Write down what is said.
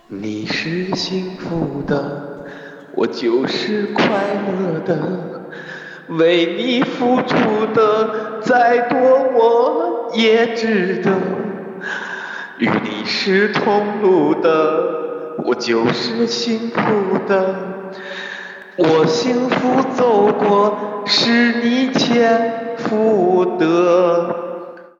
你是幸福的，我就是快乐的，为你付出的再多我也值得。与你是同路的，我就是幸福的。我幸福走过，是你欠负的。